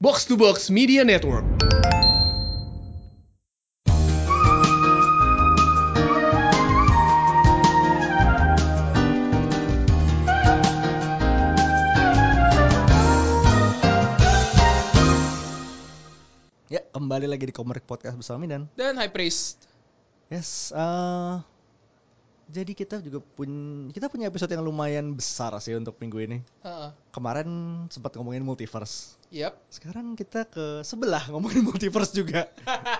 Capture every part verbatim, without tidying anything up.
Box to Box Media Network. Ya, kembali lagi di Komrik Podcast bersama Midan dan High Priest. Yes, uh, jadi kita juga pun kita punya episode yang lumayan besar sih untuk minggu ini. Uh-uh. Kemarin sempat ngomongin multiverse. Yep. Sekarang kita ke sebelah ngomongin multiverse juga.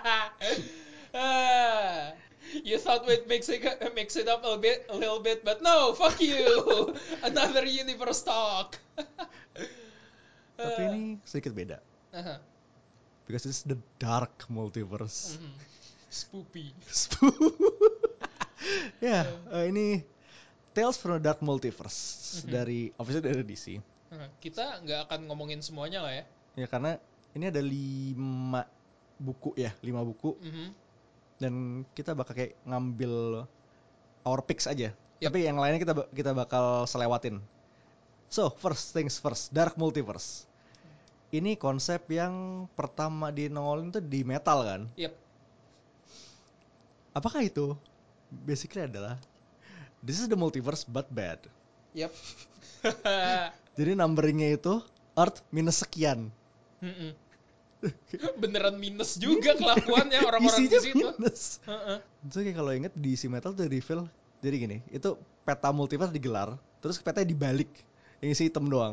uh, you thought we'd mix it, mix it up a bit, a little bit, but no, fuck you. Another universe talk. Tapi ini sedikit beda. Uh-huh. Because it's the dark multiverse. Mm-hmm. Spoopy. Ya, yeah, uh, ini Tales from the Dark Multiverse mm-hmm. dari official dari D C. Uh, kita nggak akan ngomongin semuanya lah ya. Ya karena ini ada lima buku ya, lima buku. Mm-hmm. Dan kita bakal kayak ngambil our picks aja. Yep. Tapi yang lainnya kita kita bakal selewatin. So, first things first, Dark Multiverse. Ini konsep yang pertama dinongolin tuh di metal kan? Yep. Apakah itu? Basically adalah this is the multiverse but bad. Yep. Jadi numberingnya itu Earth minus sekian. Mm-mm. Beneran minus juga kelakuannya orang-orang di situ. Minus. Uh-uh. So kayak kalau inget di si metal tuh reveal. Jadi gini, itu peta multiverse digelar, terus petanya dibalik, yang isi hitam doang.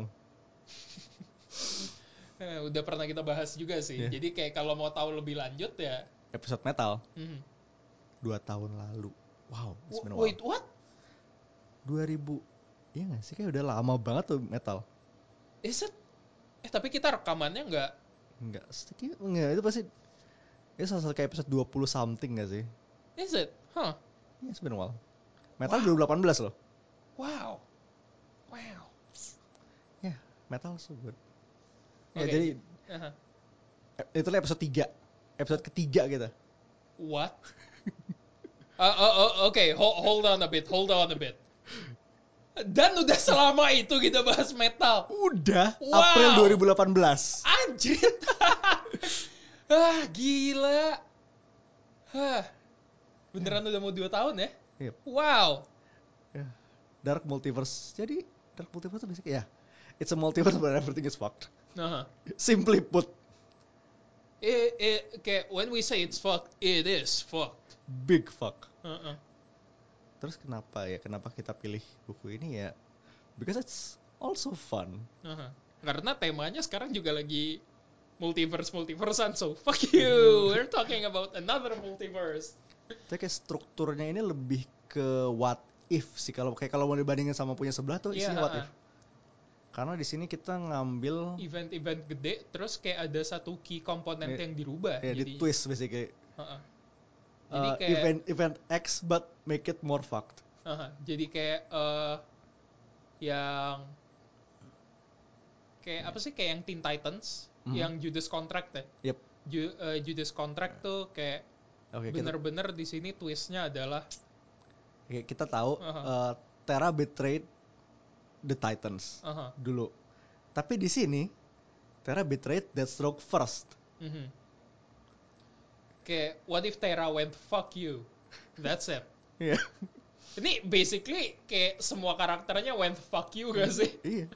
Eh, udah pernah kita bahas juga sih. Yeah. Jadi kayak kalau mau tahu lebih lanjut ya episode metal. Mm-hmm. Dua tahun lalu. Wow. W- wait, what? dua ribu Iya nggak sih, kayak udah lama banget tuh metal. Is it? Eh tapi kita rekamannya nggak? Nggak, nggak itu pasti. Itu salah satu kayak episode dua puluh something nggak sih? Is it? Huh? Iya, it's been a while. Metal wow. dua ribu delapan belas loh. Wow. Wow. Ya, yeah, metal so good. Okay. Ya jadi uh-huh. itu episode tiga. Episode ketiga kita. What? uh, uh, uh, Oke, okay. hold, hold on a bit, hold on a bit. Dan udah selama itu kita bahas metal. Udah, wow. April dua ribu delapan belas. Anjir. Ah, gila. Hah. Beneran udah mau dua tahun ya? Yep. Wow. Yeah. Dark Multiverse. Jadi, Dark Multiverse itu basically ya, yeah, it's a multiverse but everything is fucked. Uh-huh. Simply put. It, it, okay, when we say it's fucked, it is fucked. Big fuck. Uh-uh. Terus kenapa ya? Kenapa kita pilih buku ini ya? Because it's also fun. Uh-huh. Karena temanya sekarang juga lagi multiverse multiversean, so fuck you. We're talking about another multiverse. Tapi kayak strukturnya ini lebih ke what if sih, kalau kayak kalau mau dibandingin sama punya sebelah tuh isinya yeah, what if. Karena di sini kita ngambil event-event gede, terus kayak ada satu key komponen yeah, yang dirubah. Yeah, jadi di twist basically. Uh-uh. Jadi uh, kayak event event X but make it more fucked. Uh-huh. Jadi kayak uh, yang kayak yeah. apa sih kayak yang Teen Titans, mm-hmm. yang Judas Contract ya. Yep. Ju, uh, Judas Contract yeah. tuh kayak okay, bener-bener kita, di sini twistnya adalah okay, kita tahu uh-huh. uh, Terra betrayed the Titans uh-huh. dulu. Tapi di sini Terra betrayed Deathstroke first. Mm-hmm. Kayak what if Terra went fuck you? That's it. Iya. Yeah. Ini basically kayak semua karakternya went fuck you gak sih? Iya.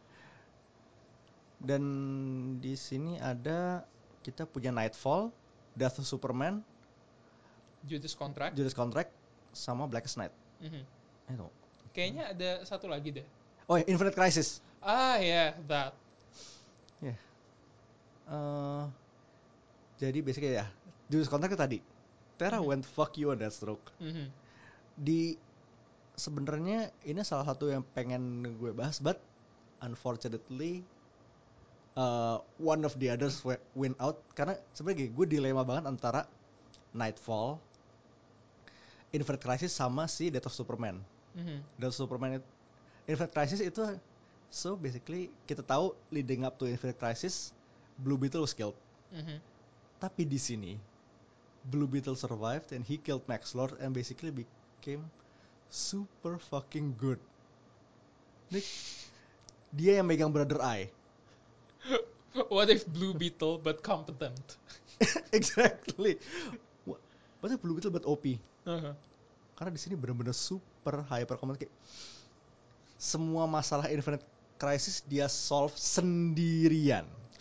Dan di sini ada kita punya Nightfall, Death of Superman, Judas Contract, Judas Contract, sama Blackest Night. Mm-hmm. Itu. Kayaknya ada satu lagi deh. Oh, ya, Infinite Crisis. Ah ya, yeah, that. Ya. Yeah. Uh, jadi basically ya, Judas Contract tadi. Terra mm-hmm. went fuck you on Deathstroke. Mm-hmm. Di sebenarnya ini salah satu yang pengen gue bahas, but unfortunately uh, one of the others win out karena sebenarnya gue dilema banget antara Nightfall, Infinite Crisis sama si Death of Superman. Mm-hmm. Death of Superman itu, Infinite Crisis itu so basically kita tahu leading up to Infinite Crisis Blue Beetle was killed. Mm-hmm. Tapi di sini Blue Beetle survived and he killed Max Lord and basically became super fucking good. Nick, dia yang megang Brother Eye. What if Blue Beetle but competent? Exactly. What what if Blue Beetle but O P? Uh-huh. Karena di sini benar-benar super hyper command, kayak semua masalah Infinite Crisis dia solve sendirian.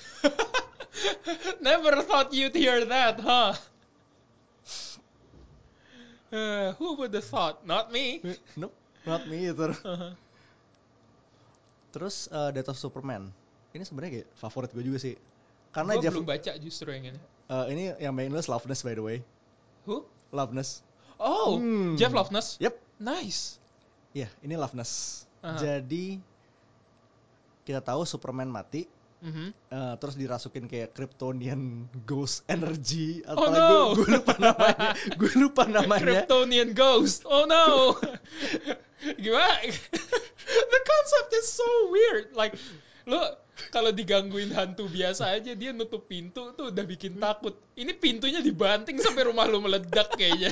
Never thought you'd hear that, huh? Uh, who would have thought? Not me. Nope, not me either. Uh-huh. Terus uh, Death of Superman. Ini sebenarnya kayak favorit gue juga sih. Karena Gue Jeff, belum baca justru yang ini. uh, ini yang main nulis Loveness by the way. Who? Loveness. Oh, Hmm. Jeff Loveness. Yep. Nice. Iya, yeah, ini Loveness. Uh-huh. Jadi kita tahu Superman mati. Mm-hmm. Uh, terus dirasukin kayak Kryptonian Ghost Energy atau Oh no. gue lupa namanya. Gue lupa namanya. Kryptonian Ghost. Oh no. Gimana? The concept is so weird. Like, lo kalau digangguin hantu biasa aja dia nutup pintu tuh udah bikin takut. Ini pintunya dibanting sampai rumah lo meledak kayaknya.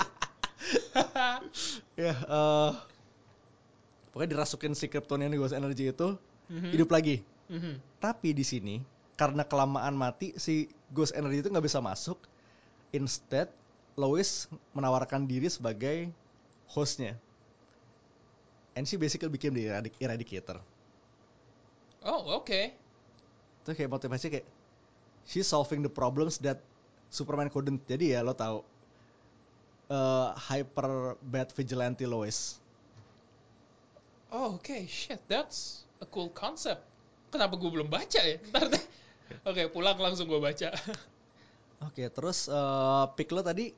Ya, uh, pokoknya dirasukin si Kryptonian Ghost Energy itu Mm-hmm. hidup lagi. Mm-hmm. Tapi di sini karena kelamaan mati si Ghost Energy itu nggak bisa masuk. Instead, Lois menawarkan diri sebagai hostnya. And she basically became the eradic- eradicator. Oh, okay. Itu kayak motivasi kayak she's solving the problems that Superman couldn't. Jadi ya lo tahu uh, hyper bad vigilante Lois. Oh, okay. Shit, that's a cool concept. Kenapa gue belum baca ya? Ntar deh. Oke, okay, pulang langsung gue baca. Oke, okay, terus uh, pick lo tadi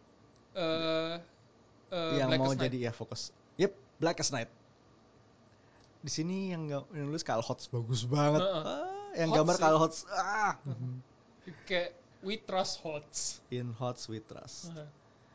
uh, uh, yang mau Blackest Night. jadi ya fokus. Yep, Blackest Night. Di sini yang nggak nulis Kyle Hotz bagus banget. Uh-uh. Ah, yang Hotz gambar sih. Kyle Hotz. Ah. Kayak we trust Hotz. In Hotz we trust. Uh-huh.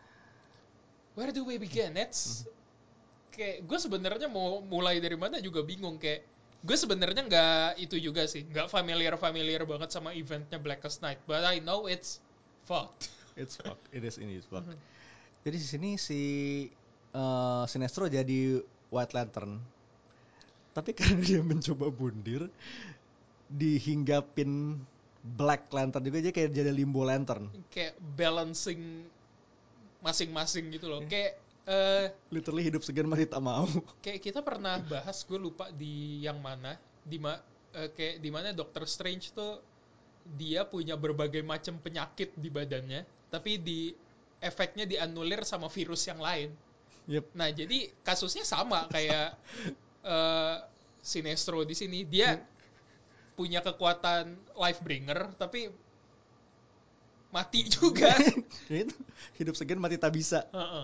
Where do we begin? It's mm-hmm. Kayak gue sebenarnya mau mulai dari mana juga bingung. Kayak gue sebenarnya nggak itu juga sih, nggak familiar familiar banget sama eventnya Blackest Night, but I know it's fucked. It's fucked. It is ini fucked. Mm-hmm. Jadi di sini si uh, Sinestro jadi White Lantern, tapi karena dia mencoba bundir, dihinggapin Black Lantern juga, aja kayak jadi Limbo Lantern. Kayak balancing masing-masing gitu loh. Kayak Uh, literally hidup segan mati tak mau. Kayak kita pernah bahas, gue lupa di yang mana, di ma, uh, kayak di mana Doctor Strange tuh dia punya berbagai macam penyakit di badannya, tapi di efeknya dianulir sama virus yang lain. Yep. Nah jadi kasusnya sama kayak uh, Sinestro di sini, dia hmm. punya kekuatan Lifebringer tapi mati juga. Hidup segan mati tak bisa. Uh-uh.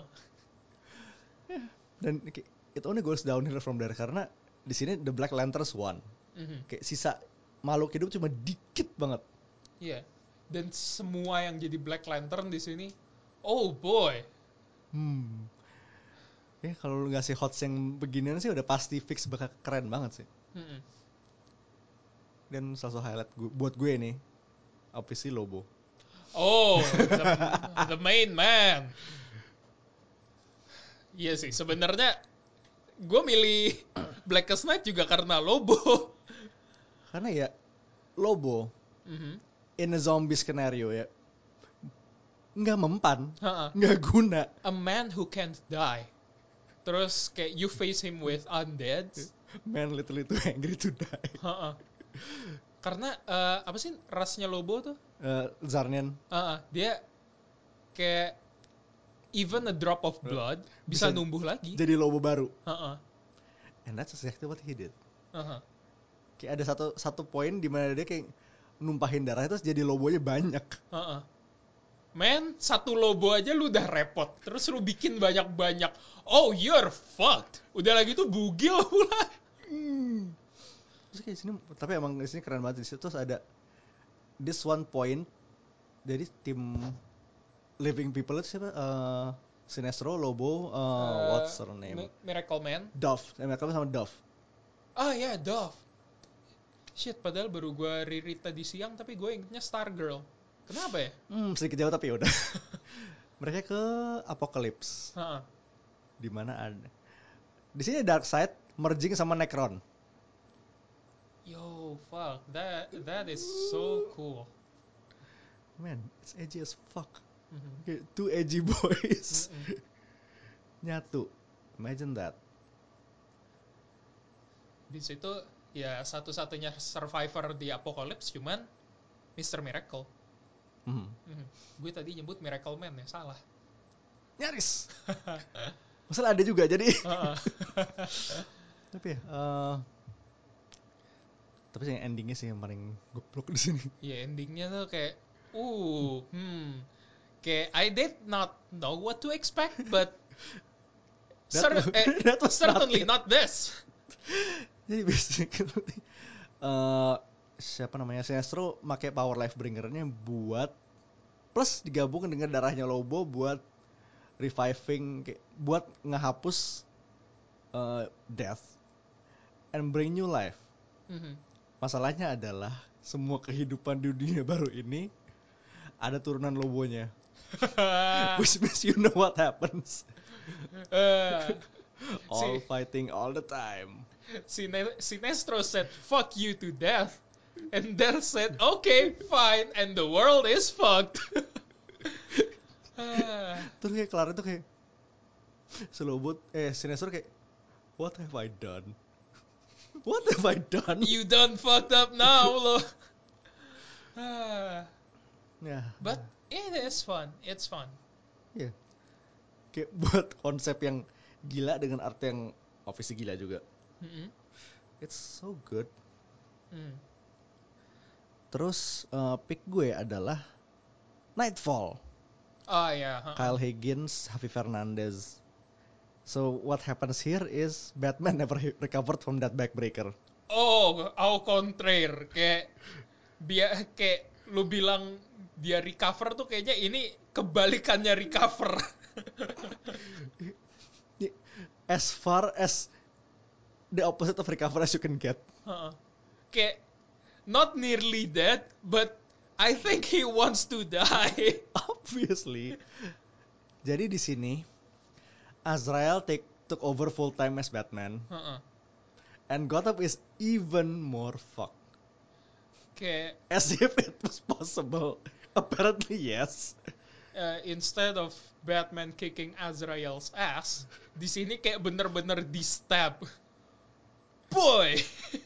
Dan it only goes downhill from there karena di sini the Black Lanterns won. Mm-hmm. Kayak sisa makhluk hidup cuma dikit banget. Iya. Yeah. Dan semua yang jadi Black Lantern di sini, oh boy. Hmm. Ya kalau lu ngasih Hotz yang beginian sih udah pasti fix bakal keren banget sih. Mm-hmm. Dan salah satu highlight gue, buat gue nih, obviously Lobo. Oh, the, the main man. Iya sih, sebenarnya gue milih Blackest Night juga karena Lobo. Karena ya Lobo mm-hmm. in a zombie scenario ya nggak mempan, uh-uh. nggak guna. A man who can't die. Terus kayak you face him with undead. Man literally too angry to die. Uh-uh. Karena uh, apa sih rasnya Lobo tuh? Uh, Zarnian. Uh-uh. Dia kayak even a drop of blood bisa, bisa numbuh lagi. Jadi Lobo baru. Uh-uh. And that's exactly what he did. Uh-huh. Kayak ada satu satu poin di mana dia kayak numpahin darah terus jadi Lobonya banyak. Uh-uh. Man, satu Lobo aja lu udah repot. Terus lu bikin banyak-banyak. Oh, you're fucked. Udah lagi tuh bugil pula. Hmm. Terus kayak sini, tapi emang di sini keren banget. Di situ terus ada this one point. Jadi tim Living People itu siapa? Uh, Sinestro, Lobo, uh, uh, what's her name? Miracle Man. Dove. Eh, Miracle Man sama Dove. Ah ya, yeah, Dove. Shit, padahal baru gue re-read tadi siang, tapi gue ingetnya Stargirl. Kenapa ya? Hmm, sedikit jauh tapi udah. Mereka ke Apocalypse. Uh-uh. Di mana ada. Di sini Darkseid merging sama Necron. Yo, fuck, that that is so cool. Man, it's edgy as fuck. Mhm. Kayak two edgy boys Mm-mm. nyatu. Imagine that. Di situ ya satu-satunya survivor di Apocalypse cuman mister Miracle. Hmm. Mhm. Gue tadi nyebut Miracle Man ya, salah. Nyaris. Masalah ada juga jadi. Heeh. Tapi ya, eh, tapi sih yang endingnya sih yang paling goblok di sini. Ya endingnya tuh kayak, uh, hmm, kayak I did not know what to expect, but That cer- was- eh, that was certainly not not this. Jadi basically eh siapa namanya Sinestro pakai power life bringernya buat plus digabungkan dengan darahnya Lobo buat reviving kayak buat ngehapus eh, death and bring new life. Mhm. Masalahnya adalah semua kehidupan di dunia baru ini ada turunan Lobonya. Which means you know what happens. Eh, All si, fighting all the time. Sine- Sinestro said, fuck you to death. And Death said, okay, fine. And the world is fucked. Ah, Terus kayak kelar itu kayak selobot eh Sinestro kayak what have I done? What have I done? you done fucked up now, loh. Ah, Ya, but it is fun. It's fun. ya. Kayak buat konsep yang gila dengan arti yang obviously gila juga. Mhm. It's so good. Mm. Terus uh, pick gue adalah Nightfall. Ah, ya. ha-ha. Kyle Higgins, Javi Fernandez. So what happens here is Batman never he- recovered from that backbreaker. Oh, au contraire. Kayak, biar kayak lu bilang dia recover tuh kayaknya ini kebalikannya recover. As far as the opposite of recover as you can get. Ha-ha. Kayak, not nearly dead, but I think he wants to die. Obviously. Jadi di sini Azrael take took over full time as Batman Ha-ha. and Gotham is even more fucked. Kayak, As if it was possible. Apparently yes. uh, instead of Batman kicking Azrael's ass, di sini kayak bener-bener di stab. Boy.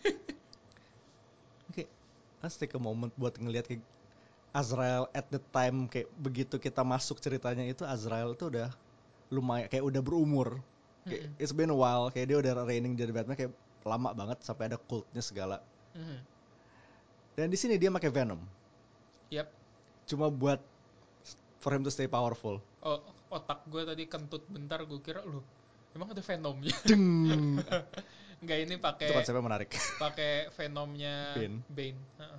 Oke, let's take a moment buat ngelihat kayak Azrael at the time kayak begitu kita masuk ceritanya itu Azrael itu udah lumayan kayak udah berumur. Kayak, Mm-mm. it's been a while kayak dia udah reigning jadi Batman kayak lama banget sampai ada cultnya segala. Mhm. Dan di sini dia pakai Venom. Yep. Cuma buat for him to stay powerful. Oh, otak gue tadi kentut bentar, gue kira lu emang ada Venomnya. Deng. Enggak, ini Itu pakai konsepnya menarik. pakai Venomnya Bane. Bane. Ha-ha.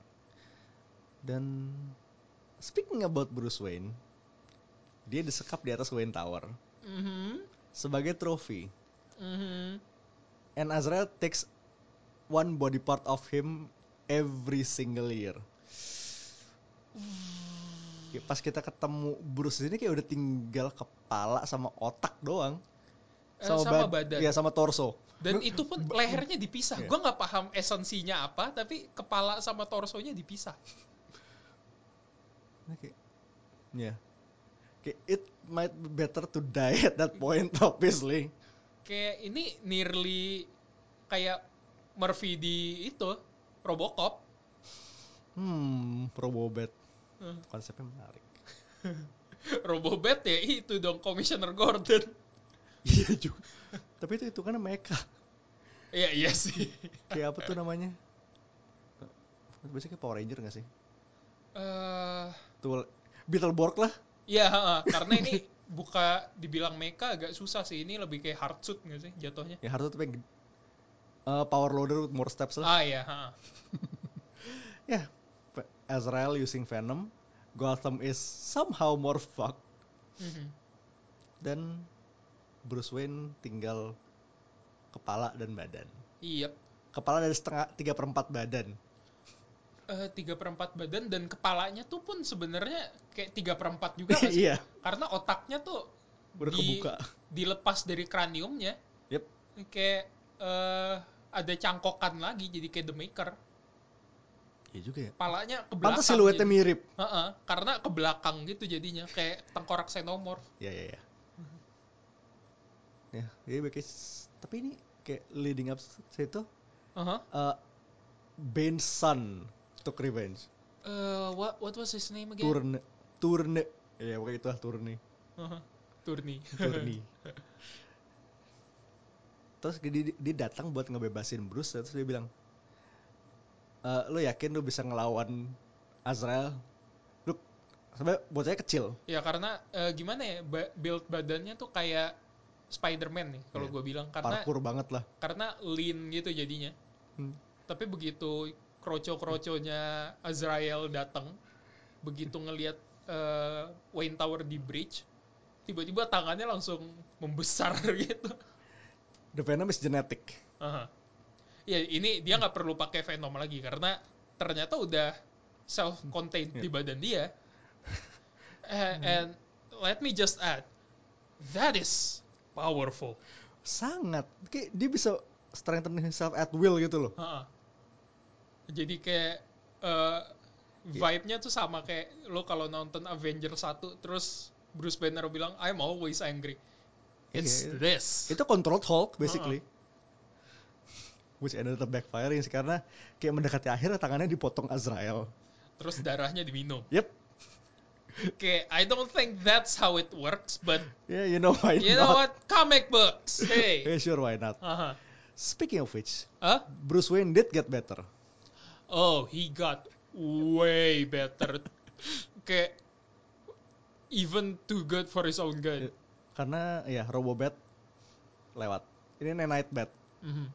Dan speaking about Bruce Wayne, dia disekap di atas Wayne Tower Mhm. sebagai trofi. Mhm. And Azrael takes one body part of him every single year. Kayak pas kita ketemu Bruce ini kayak udah tinggal kepala sama otak doang. Eh, sama bad- badan. Iya, sama torso. Dan itu pun lehernya dipisah. Iya. Gue nggak paham esensinya apa, tapi kepala sama torsonya dipisah. Oke. Ya. Kayak it might be better to die at that point obviously. Kayak ini nearly kayak Murphy di itu Robocop. Hmm, Robobat. Hmm. Konsepnya menarik. Robobat ya itu dong, Commissioner Gordon. Iya juga. Tapi itu itu kan mecha. Iya iya sih. Kayak apa tuh namanya? Biasanya kayak Power Ranger gak sih? Eh, Tuh Beetleborg lah. ya ha-ha. Karena ini buka dibilang mecha agak susah sih. Ini lebih kayak hard suit nggak sih jatuhnya? Ya harus tapi uh, power loader with more steps lah. Ah ya. Ha-ha. Ya, yeah. Azrael using Venom, Gotham is somehow more fucked, Mhm. dan Bruce Wayne tinggal kepala dan badan. Iya. Kepala dari setengah tiga perempat badan. Eh, tiga perempat badan dan kepalanya tuh pun sebenarnya kayak tiga perempat juga nggak sih? Iya. Karena otaknya tuh Udah di- kebuka. dilepas dari kraniumnya. Yep. Kayak eh ada cangkokan lagi jadi kayak The Maker. Iya juga ya. Palanya ke belakang. Pantes siluetnya jadi. mirip. Uh-uh, karena ke belakang gitu jadinya kayak tengkorak xenomorph. Ya ya ya. Ya, ya kayak, tapi ini kayak leading up saya itu Uh-huh. uh, Bane's son took revenge. Uh, what what was his name again? Turne, Turne, ya pokoknya itu lah Turne. Uh-huh. Turni. Turni. Terus dia, dia datang buat ngebebasin Bruce, terus dia bilang, e, lo yakin lo bisa ngelawan Azrael? Lu sebenarnya bocahnya kecil. Ya karena uh, gimana ya, ba- build badannya tuh kayak Spider-Man nih kalau Yeah. gue bilang, karena Parkour banget lah. karena lean gitu jadinya. Hmm. Tapi begitu kroco-kroconya Azrael datang, begitu ngelihat uh, Wayne Tower di bridge, tiba-tiba tangannya langsung membesar gitu. The Venom is genetic. Uh-huh. Ya ini dia nggak perlu pakai Venom lagi karena ternyata udah self-contained Yeah. di badan dia. uh, and let me just add, that is powerful. Sangat. Kayak dia bisa strengthen himself at will gitu loh. Uh-huh. Jadi kayak uh, vibe-nya tuh sama kayak lo kalau nonton Avengers satu terus Bruce Banner bilang I'm always angry. It's Yeah. this. Itu controlled Hulk basically. Uh-uh. Which ended up backfiring karena kayak mendekati akhir tangannya dipotong Azrael. Terus darahnya diminum. Yep. Okay, I don't think that's how it works, but Yeah, you know why you not? know what? Comic books. Hey. Yeah, sure, why not? Uh-huh. Speaking of which, Huh? Bruce Wayne did get better. Oh, he got way better. Kayak even too good for his own good. Karena ya Robobat lewat. Ini Nanite Bat. Mm-hmm.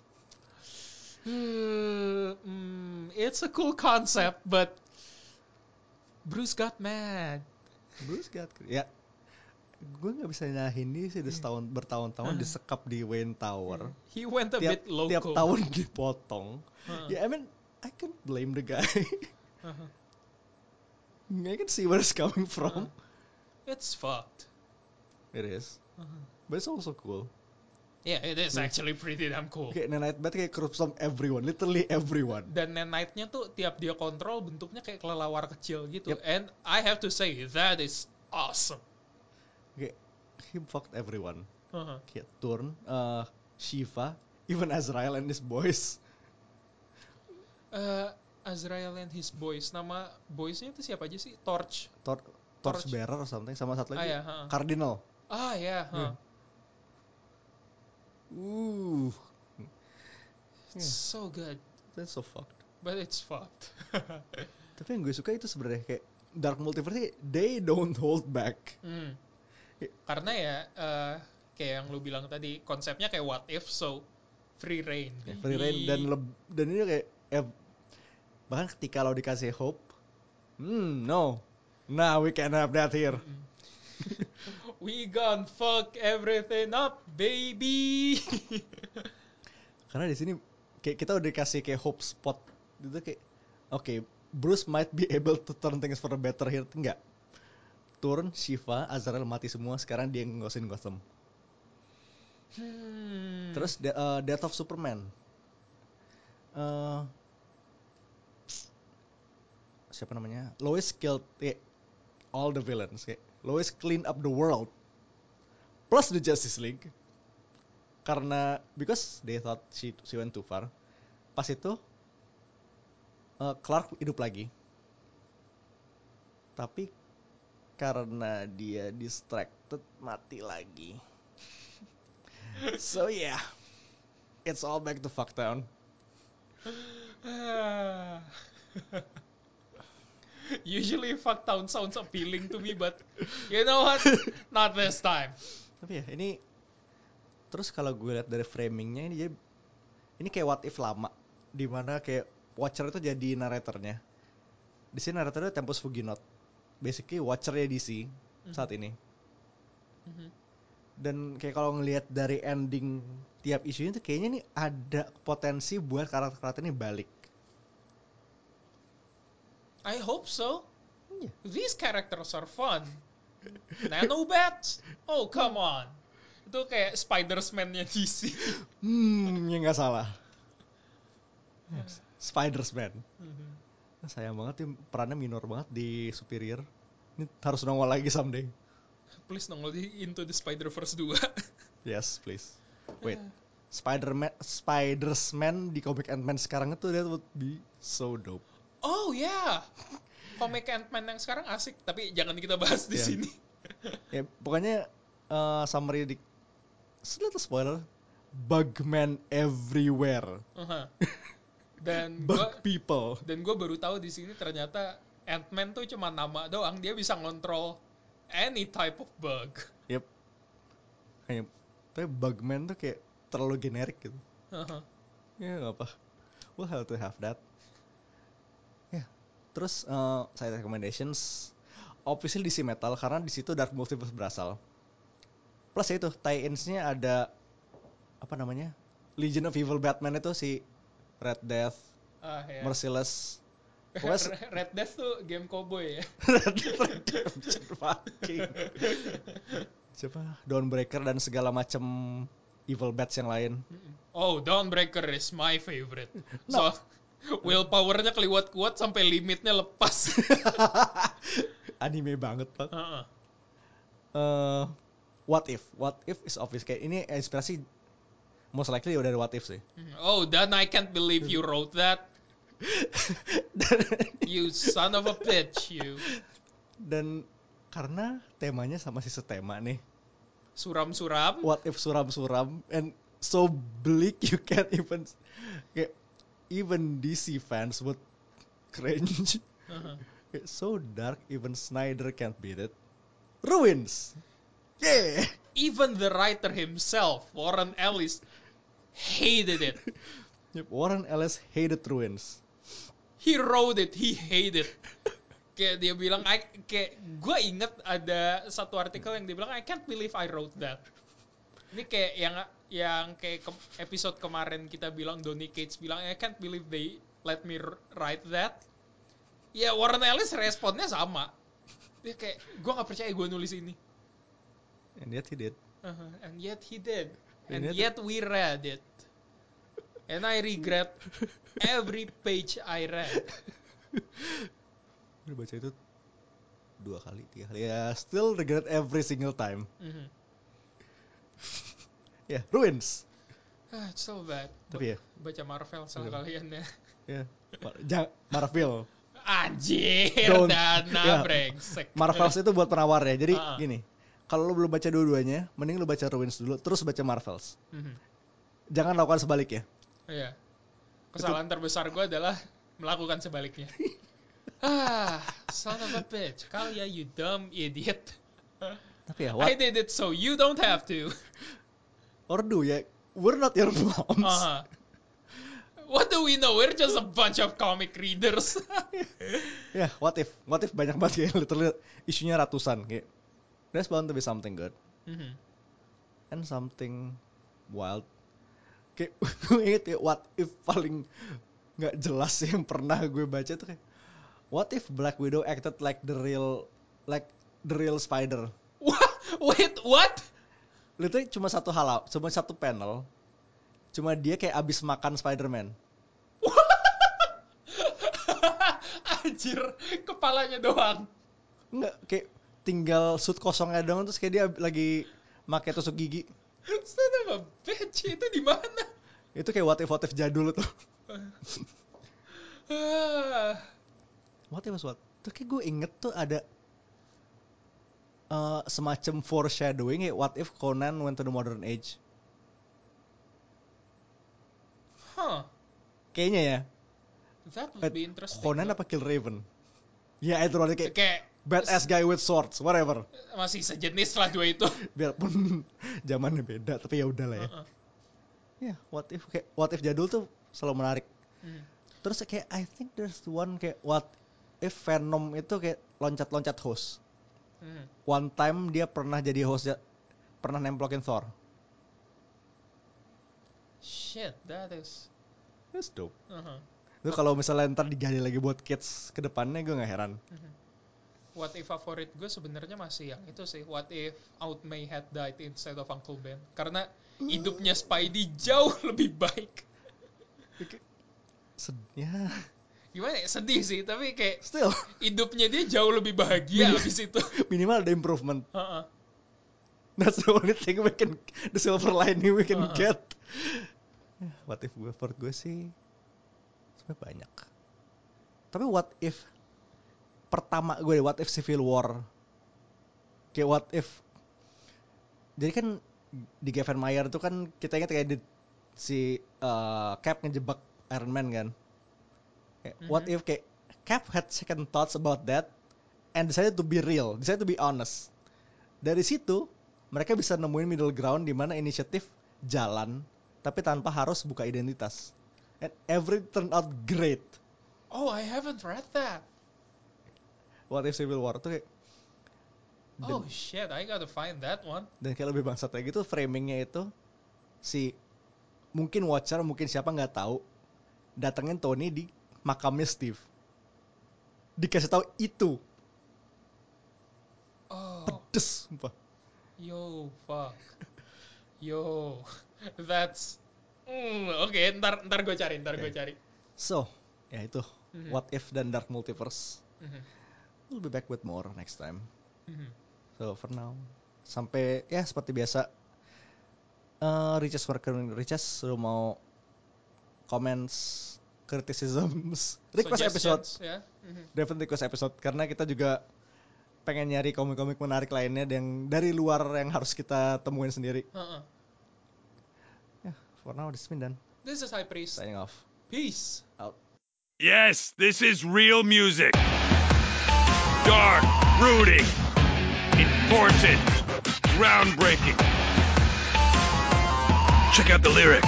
mm, it's a cool concept, but Bruce got mad. Bruce got ya. Gue nggak bisa nyahin ini sih udah setahun bertahun-tahun disekap di Wayne Tower. He went a tiap, bit loco. Tiap tahun dipotong. Uh-huh. Ya, yeah, I mean, I can't blame the guy. Uh-huh. I can see where it's coming from. Uh-huh. It's fucked. It is. Uh-huh. But it's also cool. Yeah, it is actually pretty damn cool. Kayak Nanite Bat kayak corrupts from everyone, literally everyone. Dan Nanite-nya tuh tiap dia kontrol bentuknya kayak kelelawar kecil gitu. Yep. And I have to say that is awesome. Kayak he fucked everyone. Uh-huh. Kayak Turn, uh, Shiva, even Azrael and his boys. Uh, Azrael and his boys. Nama boysnya itu siapa aja sih? Torch. Tor Torch Bearer or something, sama satu lagi. Ah, ya, huh. Cardinal. Ah ya, huh. Yeah. Uh. It's yeah. so good. That's so fucked. But it's fucked. Tapi yang gue suka itu sebenarnya kayak Dark Multiverse, they don't hold back. Hmm. Karena ya uh, kayak yang lu bilang tadi, konsepnya kayak what if, so free reign. Ya, free reign dan leb- dan ini kayak eh, bahkan ketika lo dikasih hope, hmm no, nah we can't have that here. Mm-hmm. We gonna fuck everything up, baby. Karena di sini kayak kita udah dikasih kayak hope spot gitu kayak oke, okay, Bruce might be able to turn things for the better here. Enggak. Turn, Shiva, Azrael mati semua, sekarang dia ngosin Gotham. Hmm. Terus uh, Death of Superman. Uh, siapa namanya? Lois killed eh, all the villains. Kayak Lois clean up the world. Plus the Justice League. Karena because they thought she she went too far. Pas itu uh, Clark hidup lagi. Tapi karena dia distracted mati lagi. So yeah. It's all back to Fucktown. Usually Fucktown sounds appealing to me, but you know what? Not this time. Tapi ya ini terus kalau gue lihat dari framingnya ini jadi ini kayak what if lama, dimana kayak Watcher itu jadi naratornya. Di sini naratornya Tempus Fuginaut, basically Watchernya D C mm-hmm. saat ini. Mm-hmm. Dan kayak kalau ngelihat dari ending tiap isunya tuh kayaknya nih ada potensi buat karakter-karakter ini balik. I hope so. Yeah. These characters are fun. Nanobats? Oh, come on. Itu kayak Spider-Man-nya D C. Hmm, ya nggak salah. Yes. Spider-Man. Mhm. Nah, sayang banget ya perannya minor banget di Superior. Ini harus nongol lagi someday. Please nongol di Into the Spider-Verse two. Yes, please. Wait. Spider-Man Spider-Man di komik Ant-Man sekarang itu that would be so dope. Oh ya, yeah. Komik Ant-Man yang sekarang asik, tapi jangan kita bahas di Yeah. sini. Ya, pokoknya uh, summary di little spoiler, Bugman everywhere. Uh-huh. Dan Bug gua people. dan gue baru tahu di sini ternyata Ant-Man tuh cuma nama doang, dia bisa ngontrol any type of bug. Yep. Kayak, tapi Bugman tuh kayak terlalu generik gitu. Uh-huh. Ya nggak apa. We'll have to have that. Ya. Terus uh, side recommendations, obviously D C Metal karena di situ Dark Multiverse berasal. Plus ya itu tie-ins-nya ada apa namanya? Legion of Evil Batman itu si Red Death, Ah, ya. Merciless. Pokoknya Red Death tuh game cowboy ya. Red Redemption fucking. Siapa? Dawnbreaker dan segala macam evil bats yang lain. Oh, Dawnbreaker is my favorite. No. So, willpowernya keliwat kuat sampai limitnya lepas. Anime banget, Pak. Uh-uh. Uh, what if? What if is obvious. Kayak ini inspirasi most likely udah ada what if sih. Oh, Dan, I can't believe you wrote that. You son of a bitch, you. Dan karena temanya sama si setema nih. Suram-suram. What if suram-suram and so bleak you can't even kayak even D C fans would cringe. Uh-huh. It's so dark even Snyder can't beat it. Ruins. Yeah. Even the writer himself, Warren Ellis, hated it. Yep, Warren Ellis hated Ruins. He wrote it, he hated. Kayak dia bilang, I, kayak gue inget ada satu artikel yang dia bilang, I can't believe I wrote that. Ini kayak yang yang kayak ke, episode kemarin kita bilang Donny Cates bilang, I can't believe they let me write that. Ya Warren Ellis responnya sama. Dia kayak, gue gak percaya gue nulis ini. And yet he did. Uh-huh. And yet he did. And And yet- yet we read it. And I regret every page I read. Udah baca itu dua kali, tiga kali. Ya, still regret every single time. Mm-hmm. Ya, yeah, Ruins. Ah, it's so bad. Tapi ya, Baca Marvel sama Iya. kalian ya. ya. Mar- Jangan Marvel. Anjir, Don't. Dana Ya. brengsek. Marvels itu buat penawar ya. Jadi Ah. gini, kalau lu belum baca dua-duanya, mending lu baca Ruins dulu, terus baca Marvels. Mhm. Jangan lakukan sebaliknya. Iya. Kesalahan terbesar gue adalah melakukan sebaliknya. Ah, son of a bitch. Kali ya, you dumb idiot. Tapi ya, I what did it so you don't have to. or do ya? We're not your moms. Uh-huh. What do we know? We're just a bunch of comic readers. Ya, what if? What if banyak banget kayak literally isunya ratusan kayak. There's bound to be something good Mhm. and something wild. Kayak gue inget ya, what if paling nggak jelas yang pernah gue baca tuh kayak what if Black Widow acted like the real like the real spider. What? Wait, what? Literally cuma satu hal, cuma satu panel. Cuma dia kayak abis makan Spider-Man. Anjir, kepalanya doang. Enggak, kayak tinggal suit kosongnya doang terus kayak dia lagi pakai tusuk gigi. Son of a bitch, itu di mana? Itu kayak what if what if jadul tuh. Ah. What if was what? Tuh kayak gue inget tuh ada uh, semacam foreshadowing ya what if Conan went to the modern age. Huh. Kayaknya ya. That would be interesting. Conan though. apa Kill Raven? Ya itu berarti kayak Kayak badass guy with swords, whatever. masih sejenis lah dua itu. Biarpun zamannya beda, tapi ya udahlah ya. Uh-uh. Ya, what if kayak what if jadul tuh selalu menarik. Hmm. Terus kayak I think there's one kayak what if Venom itu kayak loncat-loncat host. Hmm. One time dia pernah jadi host, pernah nemplokin Thor. Shit, that is. That's dope. Uh-huh. Itu kalau misalnya ntar digali lagi buat kids ke depannya gue gak heran. Mhm. What if favorit gue sebenarnya masih yang itu sih. What if Aunt May had died instead of Uncle Ben? Karena hidupnya Spidey jauh lebih baik. Sed- ya. Gimana ya? Sedih sih, tapi kayak Still. hidupnya dia jauh lebih bahagia abis itu. Minimal ada improvement. Uh-uh. That's the only thing we can, the silver lining we can Uh-huh. get. What if gue, for gue sih sebenarnya banyak. Tapi what if pertama gue, what if Civil War, kayak what if, jadi kan di Gavin Mayer tuh kan kita ingat kayak di, si uh, Cap ngejebak Iron Man kan. Kayak, Mm-hmm. what if kayak Cap had second thoughts about that and decided to be real, decided to be honest. Dari situ mereka bisa nemuin middle ground di mana inisiatif jalan tapi tanpa harus buka identitas. And everything turned out great. Oh, I haven't read that. What if Civil War tuh kayak dan, Oh shit, I gotta find that one. dan kayak lebih bangsat kayak gitu, framingnya itu si mungkin Watcher, mungkin siapa nggak tahu datengin Tony di makamnya Steve, dikasih tahu itu. Oh, Pedes sumpah. yo, fuck. Yo, that's... Mm, Oke, okay, ntar, ntar gue cari, ntar okay. gue cari. So, ya itu. Mm-hmm. What If dan Dark Multiverse. Mm-hmm. We'll be back with more next time. Mm-hmm. So, for now, sampai, ya seperti biasa, uh, Riches Worker Riches sudah mau comments, criticisms, request episode. Yeah. Mm-hmm. Definitely request episode. Karena kita juga pengen nyari komik-komik menarik lainnya yang dari luar yang harus kita temuin sendiri. Uh-uh. Yeah, for now this is Mindan. This is High Priest. Signing off. Peace. Out. Yes, this is real music. Dark, brooding, important, groundbreaking. Check out the lyrics.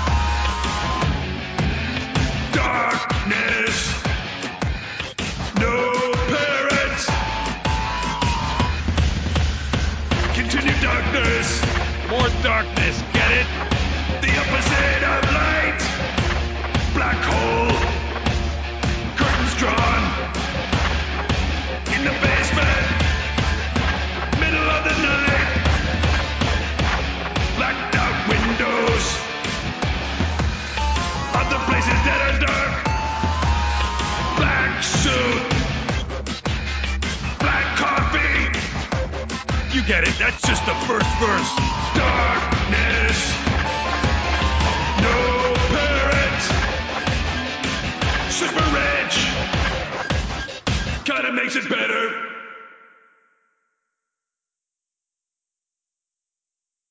Darkness, no parents. Continue darkness, more darkness, get it? The opposite of light. Black hole, curtains drawn. In the basement, middle of the night. Blacked out windows. Other places that are dark. Black suit. Black coffee. You get it, that's just the first verse. Darkness. No parents. Super rich. Kinda makes it better.